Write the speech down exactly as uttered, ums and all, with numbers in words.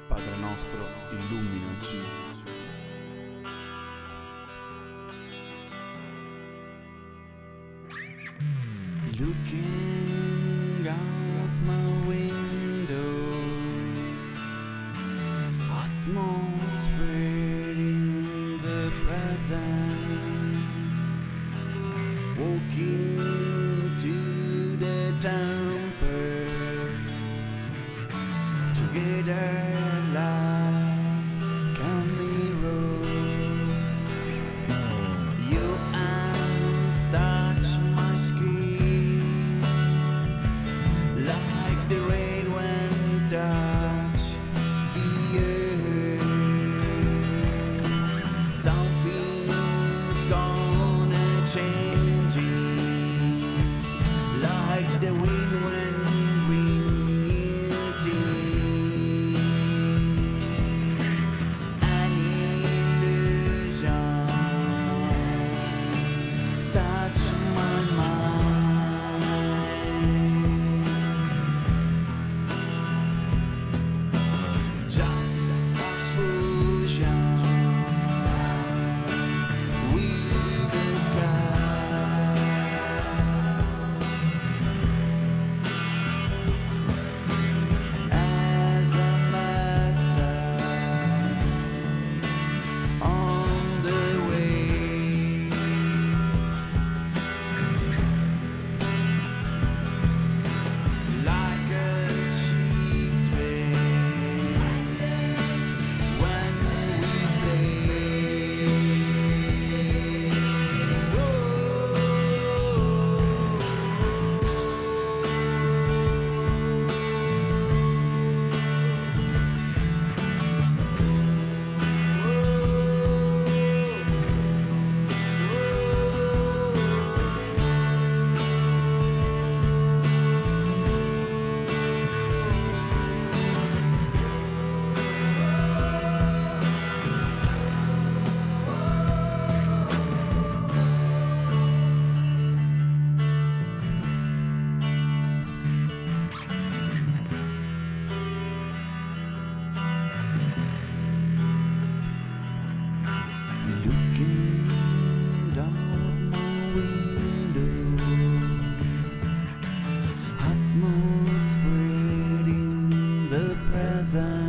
Padre nostro, illuminaci. Looking out my window, atmosphere in the present, walking to the temple, together like a mirror. Your hands touch my skin like the rain when touch the earth. Something's gonna change it, like the wind when bring it in. An illusion touch my mind. Just a fusion with the sky. As a message on the way, like a cheap train when we play. Looking down my window, atmosphere in the present.